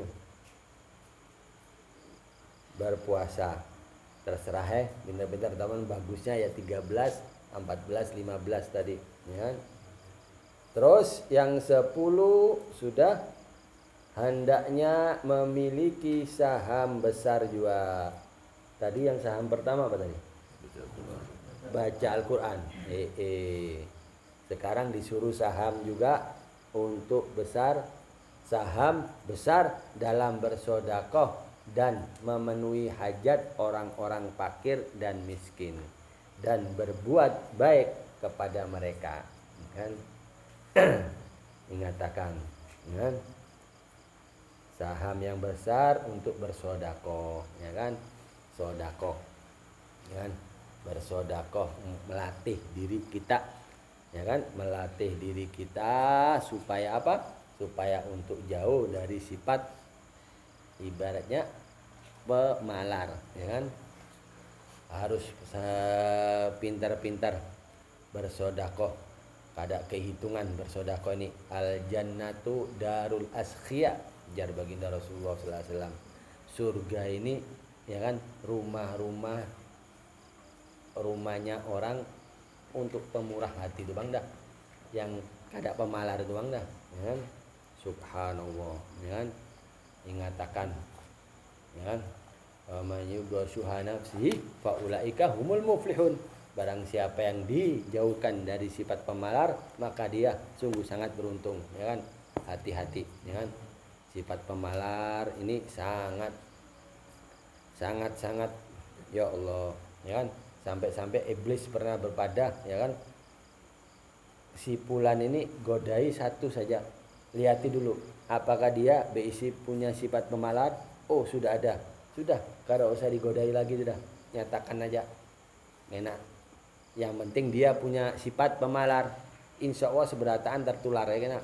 Berpuasa terserah eh, pintar-pintar teman, bagusnya ya tiga belas, empat belas, lima belas tadi, ya. Terus yang sepuluh sudah hendaknya memiliki saham besar juga. Tadi yang saham pertama apa tadi? Baca Al-Quran. Eh, eh. Sekarang disuruh saham juga untuk besar, saham besar dalam bersodakoh dan memenuhi hajat orang-orang fakir dan miskin, dan berbuat baik kepada mereka, kan? Ingatakan, kan? Saham yang besar untuk bersodakoh, ya kan? Sodakoh, ya kan? bersedekah, melatih diri kita, ya kan, melatih diri kita supaya apa? Supaya untuk jauh dari sifat ibaratnya pemalar, ya kan, harus pintar-pintar bersedekah. Kada kehitungan bersedekah ini. Al jannatu darul asqiya, jar baginda Rasulullah sallallahu alaihi wasallam. Surga ini, ya kan, rumah-rumah rumahnya orang untuk pemurah hati itu bang dah, yang kada pemalar itu bang dah, ya kan. Subhanallah, ya kan, ingatakan, ya kan, man yubsyuha nafsihi faulaika humul muflihun. Barang siapa yang dijauhkan dari sifat pemalar, maka dia sungguh sangat beruntung, ya kan. Hati-hati, ya kan. Sifat pemalar ini sangat sangat sangat ya Allah, ya kan. Sampai-sampai iblis pernah berpada, ya kan. Si fulan ini godai satu saja. Lihat dulu apakah dia berisi punya sifat pemalar. Oh, sudah ada. Sudah, kada usah digodai lagi, sudah. Nyatakan aja. Enak. Yang penting dia punya sifat pemalar. Insya Allah seberataan tertular, ya kan.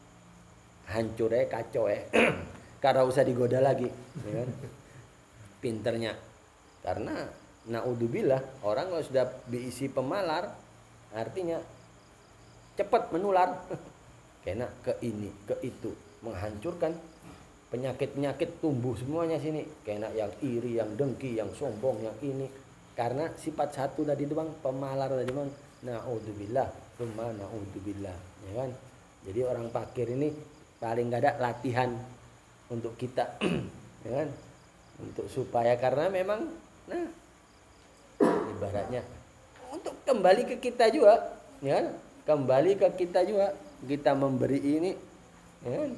Hancur ya, kacau ya. Kada usah digoda lagi, ya kan. Pinternya. Karena naudzubillah, orang kalau sudah diisi pemalar, artinya cepat menular. Kena ke ini, ke itu, menghancurkan. Penyakit-penyakit tumbuh semuanya sini. Kena yang iri, yang dengki, yang sombong, yang ini. Karena sifat satu tadi itu bang, pemalar tadi bang. Naudzubillah, tsumma naudzubillah, ya kan. Jadi orang fakir ini paling gak ada latihan untuk kita, ya kan. Untuk supaya, karena memang, nah, ibaratnya untuk kembali ke kita juga, ya kan? Kembali ke kita juga, kita memberi ini, ya kan?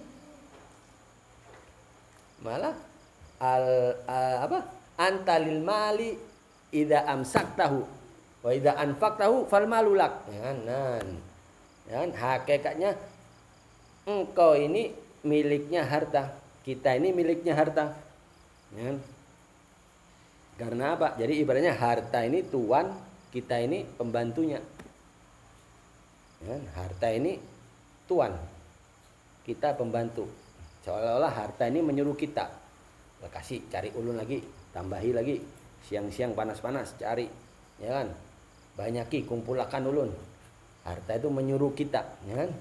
Malah al, al apa? Antalil mali idza amsaktahu wa idza anfaqtahu fal malulak, ya kan? Nah, ya kan? Hakikatnya engkau ini miliknya harta, kita ini miliknya harta, ya kan? Karena apa? Jadi ibaratnya harta ini tuan, kita ini pembantunya. Ya, harta ini tuan, kita pembantu. Seolah-olah harta ini menyuruh kita. Kasih, cari ulun lagi, tambahi lagi. Siang-siang panas-panas cari, ya kan? Banyaki, kumpulakan ulun. Harta itu menyuruh kita, ya kan?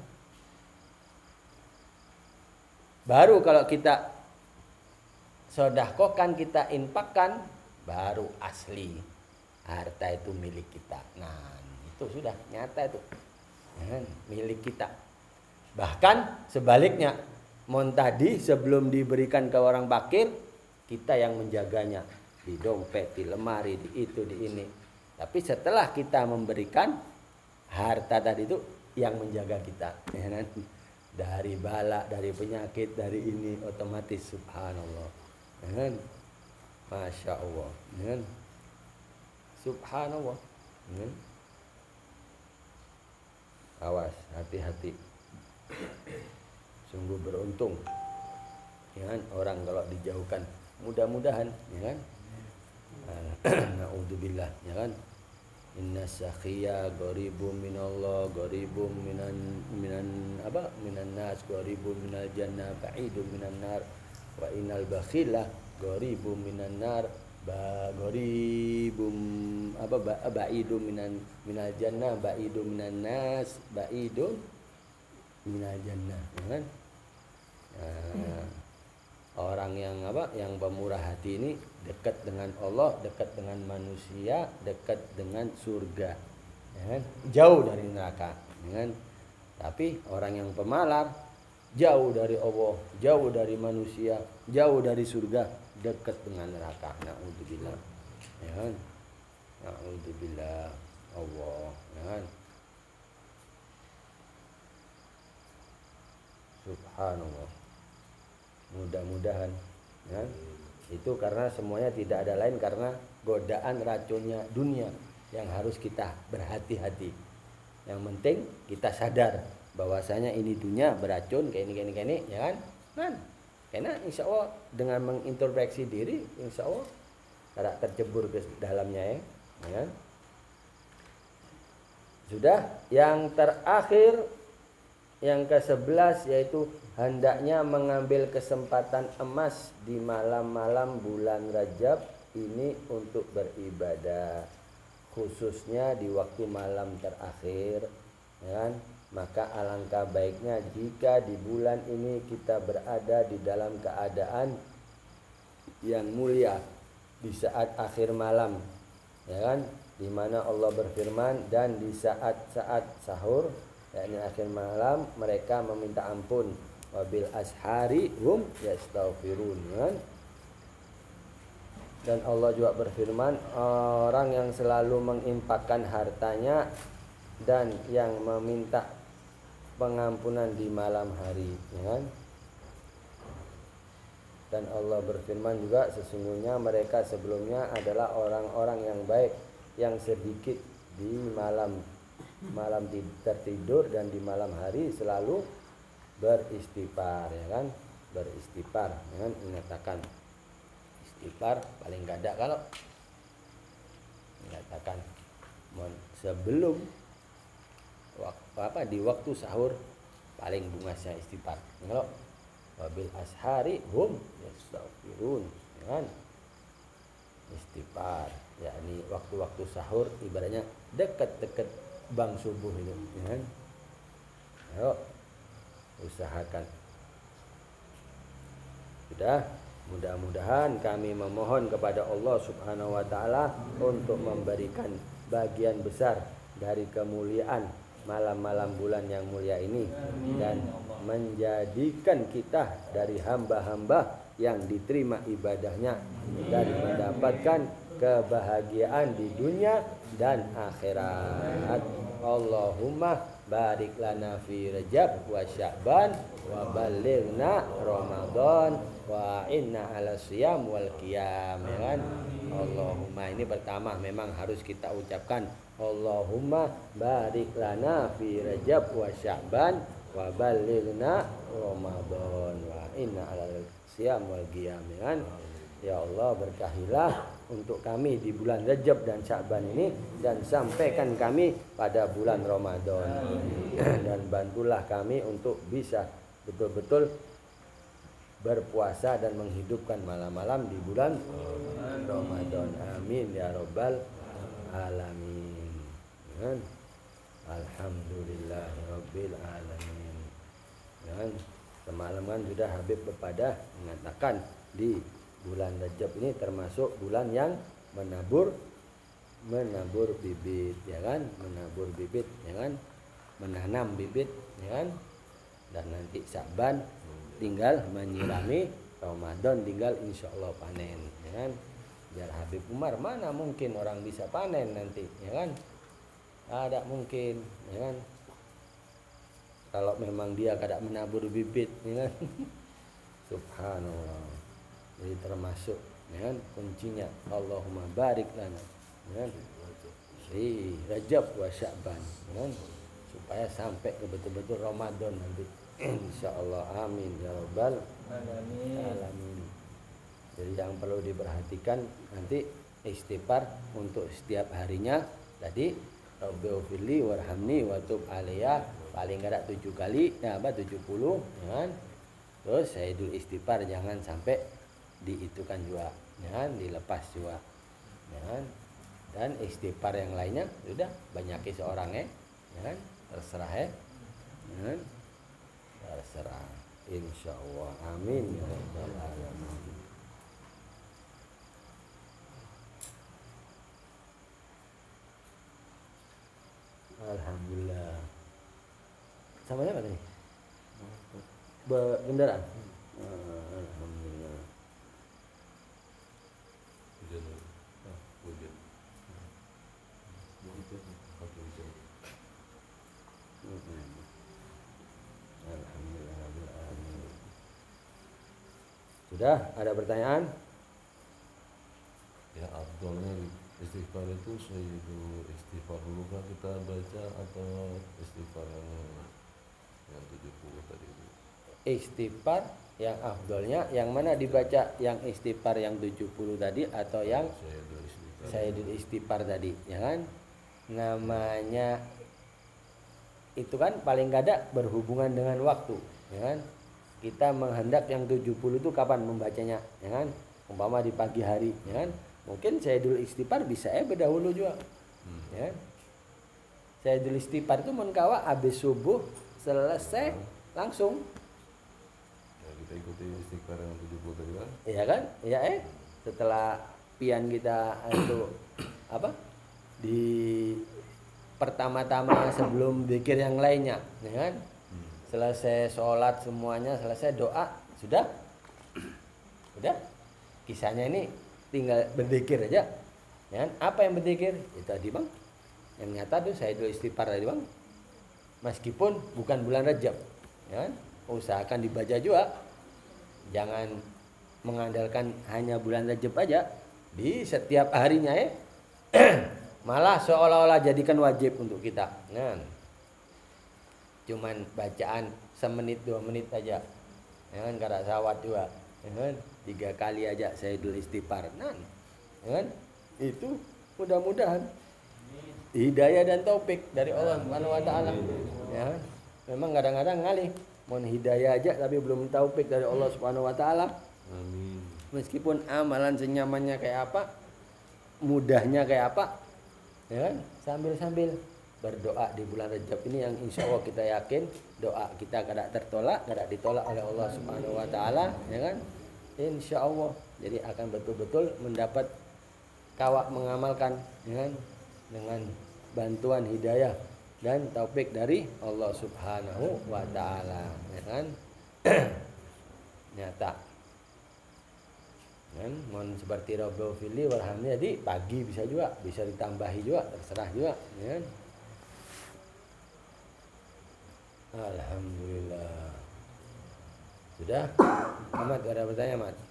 Baru kalau kita sedekahkan, kita infakkan, baru asli harta itu milik kita. Nah, itu sudah nyata itu, ya kan? Milik kita. Bahkan sebaliknya, mon tadi sebelum diberikan ke orang fakir, kita yang menjaganya di dompet, di lemari, di itu, di ini. Tapi setelah kita memberikan, harta tadi itu yang menjaga kita, ya kan? Dari bala, dari penyakit, dari ini, otomatis subhanallah, ya kan? Masya Allah, ya kan? Subhanallah, ya kan? Awas, hati-hati. Sungguh beruntung, ya kan, orang kalau dijauhkan. Mudah-mudahan, ya kan. Naudzubillah, ya kan. Inna sakhiya gharibum minallah, gharibum minan minan apa? Minan nas, gharibum minal jannah, ba'idum minan nar. Wa innal bakhila gharibum minan nar, ba gharibum apa? Ba, ba'idum minan minal jannah, ba'idum minan nas, ba'idum minal jannah, ya kan. Nah, orang yang apa, yang pemurah hati ini dekat dengan Allah, dekat dengan manusia, dekat dengan surga, ya kan? Jauh dari neraka, ya kan? Tapi orang yang pemalar jauh dari Allah, jauh dari manusia, jauh dari surga, dekat dengan neraka. Naudzubillah, ya kan? Naudzubillah, Allah, ya kan? Subhanallah. Mudah-mudahan, ya, itu karena semuanya tidak ada lain karena godaan racunnya dunia yang harus kita berhati-hati. Yang penting kita sadar bahwasanya ini dunia beracun, kayak ini kayak ini kayak ini, ya kan? Kan? Karena insya Allah dengan mengintrospeksi diri, insya Allah tidak tercebur ke dalamnya, ya, ya kan? Sudah. Yang terakhir yang kesebelas yaitu hendaknya mengambil kesempatan emas di malam-malam bulan Rajab ini untuk beribadah, khususnya di waktu malam terakhir, ya kan? Maka alangkah baiknya jika di bulan ini kita berada di dalam keadaan yang mulia di saat akhir malam, ya kan? Di mana Allah berfirman, dan di saat-saat sahur, yakni akhir malam, mereka meminta ampun, wabil ashari hum yastaghfirun, kan? Dan Allah juga berfirman, orang yang selalu menginfakkan hartanya dan yang meminta pengampunan di malam hari, ya kan? Dan Allah berfirman juga, sesungguhnya mereka sebelumnya adalah orang-orang yang baik, yang sedikit di malam malam tertidur dan di malam hari selalu beristighfar, ya kan? Beristighfar, ya kan? Mengatakan istighfar paling gak ada kalau mengatakan sebelum waktu apa di waktu sahur paling bungasnya istighfar. Kalau wabil ashari hum yastaghfirun, ya kan? Istighfar, yakni waktu-waktu sahur ibaratnya dekat-dekat bang subuh itu, ya kan? Ayo usahakan. Sudah, mudah-mudahan kami memohon kepada Allah Subhanahu wa taala untuk memberikan bagian besar dari kemuliaan malam-malam bulan yang mulia ini, dan menjadikan kita dari hamba-hamba yang diterima ibadahnya dan mendapatkan kebahagiaan di dunia dan akhirat. Allahumma barik lana fi Rajab wa Sya'ban wa balighna Ramadan wa inna ala siyam wal qiyam, ya kan? Allahumma, ini pertama memang harus kita ucapkan Allahumma barik lana fi Rajab wa Sya'ban wa balighna Ramadan wa inna ala siyam wal qiyam, ya kan? Ya Allah, berkahilah untuk kami di bulan Rajab dan Sya'ban ini, dan sampaikan kami pada bulan Ramadan. Dan bantulah kami untuk bisa betul-betul berpuasa dan menghidupkan malam-malam di bulan Ramadan. Amin ya rabbal alamin. Alhamdulillahirabbil alamin. Dan semalam kan sudah Habib Bepadah mengatakan di bulan Rajab ini termasuk bulan yang menabur menabur bibit, ya kan? Menabur bibit, ya kan? Menanam bibit, ya kan? Dan nanti Sya'ban tinggal menyirami, Ramadan tinggal insya Allah panen, ya kan? Jar Habib Umar, mana mungkin orang bisa panen nanti, ya kan? Ada mungkin, ya kan? Kalau memang dia kada menabur bibit, ya kan? Subhanallah. Jadi termasuk, ya kan, kuncinya Allahumma barik lana, ya kan, di Rajab wa Sya'ban, ya kan, supaya sampai ke betul-betul Ramadan nanti insyaallah. Amin ya rabbal alamin. Jadi yang perlu diperhatikan nanti istighfar untuk setiap harinya tadi, Rabbighfirli warhamni wa tub alayya, paling ada tujuh kali, ya apa tujuh puluh, ya kan? Terus Sayyidul Istighfar jangan sampai diitukan juga, ya kan? Dilepas juga, ya kan? Dan istighfar yang lainnya sudah banyaki seorang, ya, ya kan? Terserah, ya, ya kan? Terserah, insyaallah. Amin ya rabbal alamin. Alhamdulillah. Sama siapa tadi? Kendaraan. Alhamdulillah. Sudah, ada pertanyaan? Ya, afdalnya istighfar itu Sayyidul Istighfar dulu kan kita baca, atau istighfar yang yang tujuh puluh tadi itu? Istighfar yang afdalnya yang mana dibaca, yang istighfar yang tujuh puluh tadi atau yang Sayyidul Istighfar. Sayyidul Istighfar tadi, ya kan? Namanya itu kan paling gak ada berhubungan dengan waktu, ya kan? Kita menghendak yang tujuh puluh itu kapan membacanya, ya kan? Umpama di pagi hari, ya kan? Mungkin Sayyidul Istighfar bisa eh berdahulu juga, hmm. ya kan? Sayyidul Istighfar itu menkawa habis subuh selesai langsung. Ya, kita ikuti istighfar yang tujuh puluh tadi kan? Iya kan? Iya eh setelah pian kita itu apa? Di pertama-tama sebelum zikir yang lainnya, ya kan? Hmm. Selesai sholat semuanya, selesai doa, sudah, sudah. Kisahnya ini tinggal berzikir aja, ya kan? Apa yang berzikir? Itu tadi bang, yang nyata tuh saya dulu istighfar tadi bang. Meskipun bukan bulan Rajab, ya kan? Usahakan dibaca juga, jangan mengandalkan hanya bulan Rajab aja. Di setiap harinya ya. Malah seolah-olah jadikan wajib untuk kita. Nah, cuman bacaan semenit dua menit aja, ya kan? Kada sawat juga, ya kan? Tiga kali aja Sayyidul Istighfar. Nah, ya kan? Itu mudah-mudahan hidayah dan taufik dari Allah Subhanahu Wa Taala. Ya, kan? Memang kadang-kadang ngalih, mohon hidayah aja tapi belum taufik dari Allah Subhanahu Wa Taala. Amin. Meskipun amalan senyamannya kayak apa, mudahnya kayak apa. Ya kan? Sambil-sambil berdoa di bulan Rajab ini yang insya Allah kita yakin doa kita kada tertolak, kada ditolak oleh Allah Subhanahu Wa Taala, ya kan? Insya Allah, jadi akan betul-betul mendapat kawak mengamalkan, ya kan? Dengan bantuan hidayah dan taufik dari Allah Subhanahu Wa Taala, ya kan? Nyata. Kan, mohon seperti Rabbul Fili warhamnya, jadi pagi bisa juga, bisa ditambahi juga, terserah juga, ya. Alhamdulillah. Sudah? Ahmad, ada pertanyaan, Ahmad?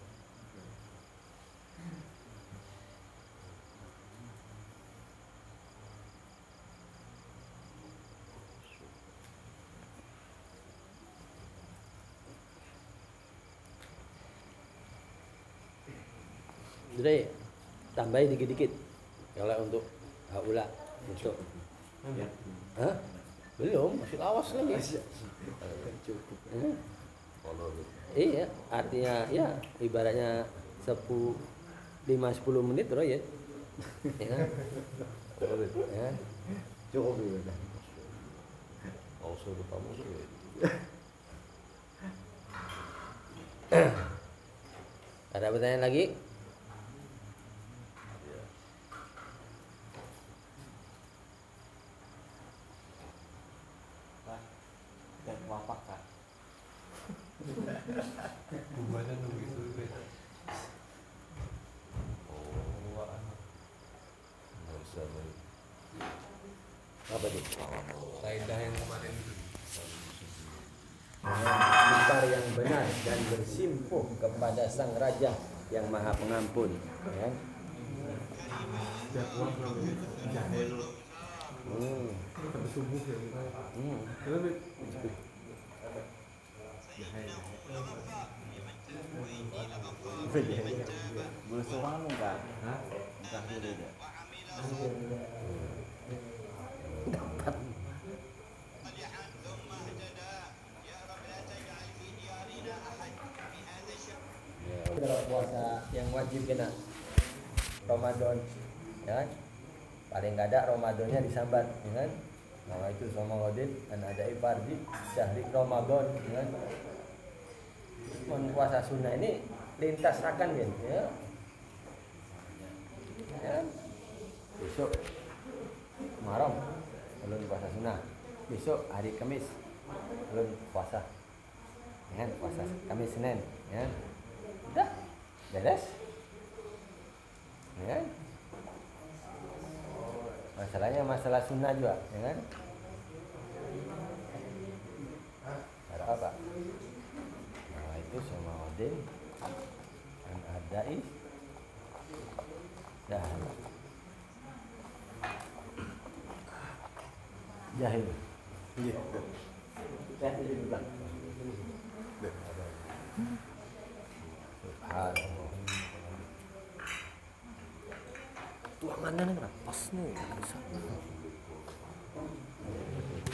Jadi tambahi dikit-dikit kalau untuk haula untuk ya. Hah? Belum, masih lawas lagi. Cukup. Hmm? Iya, artinya ya ibaratnya sepuluh lima sepuluh menit bro ya. Ya. Ya. Cukup dulu. Oh, sudah tamu sih. Ada pertanyaan lagi? Wapak kak. Bunganya nunggu itu beda. Oh, wah. Masa nih. Apa itu? Kaidah yang kemarin itu. Istighfar yang benar dan bersimpuh kepada Sang Raja yang Maha Pengampun, ya. Hmm. Hmm. Boleh seorang enggak? Hah? Enggak boleh enggak? Dapat. Kalau puasa yang wajib kena Ramadan, ya kan? Paling nggak ada Ramadannya disambat, ya kan? Nah itu sama Ramadan dan ada ifardi syahri Ramadan, ya kan? Puasa sunnah ini lintas akan kan, ya? Ya kan? Besok Muharram belum puasa sunnah, besok hari Kamis belum puasa, ya kan? Puasa Kamis Senin, ya kan? Udah beres, ya kan? Masalahnya masalah sunnah juga, ya kan? Ada apa? Nah itu sama Odin dan adai dah jahil. Iya. Jahil juga. Subhanallah. Tuangannya nih pas nih.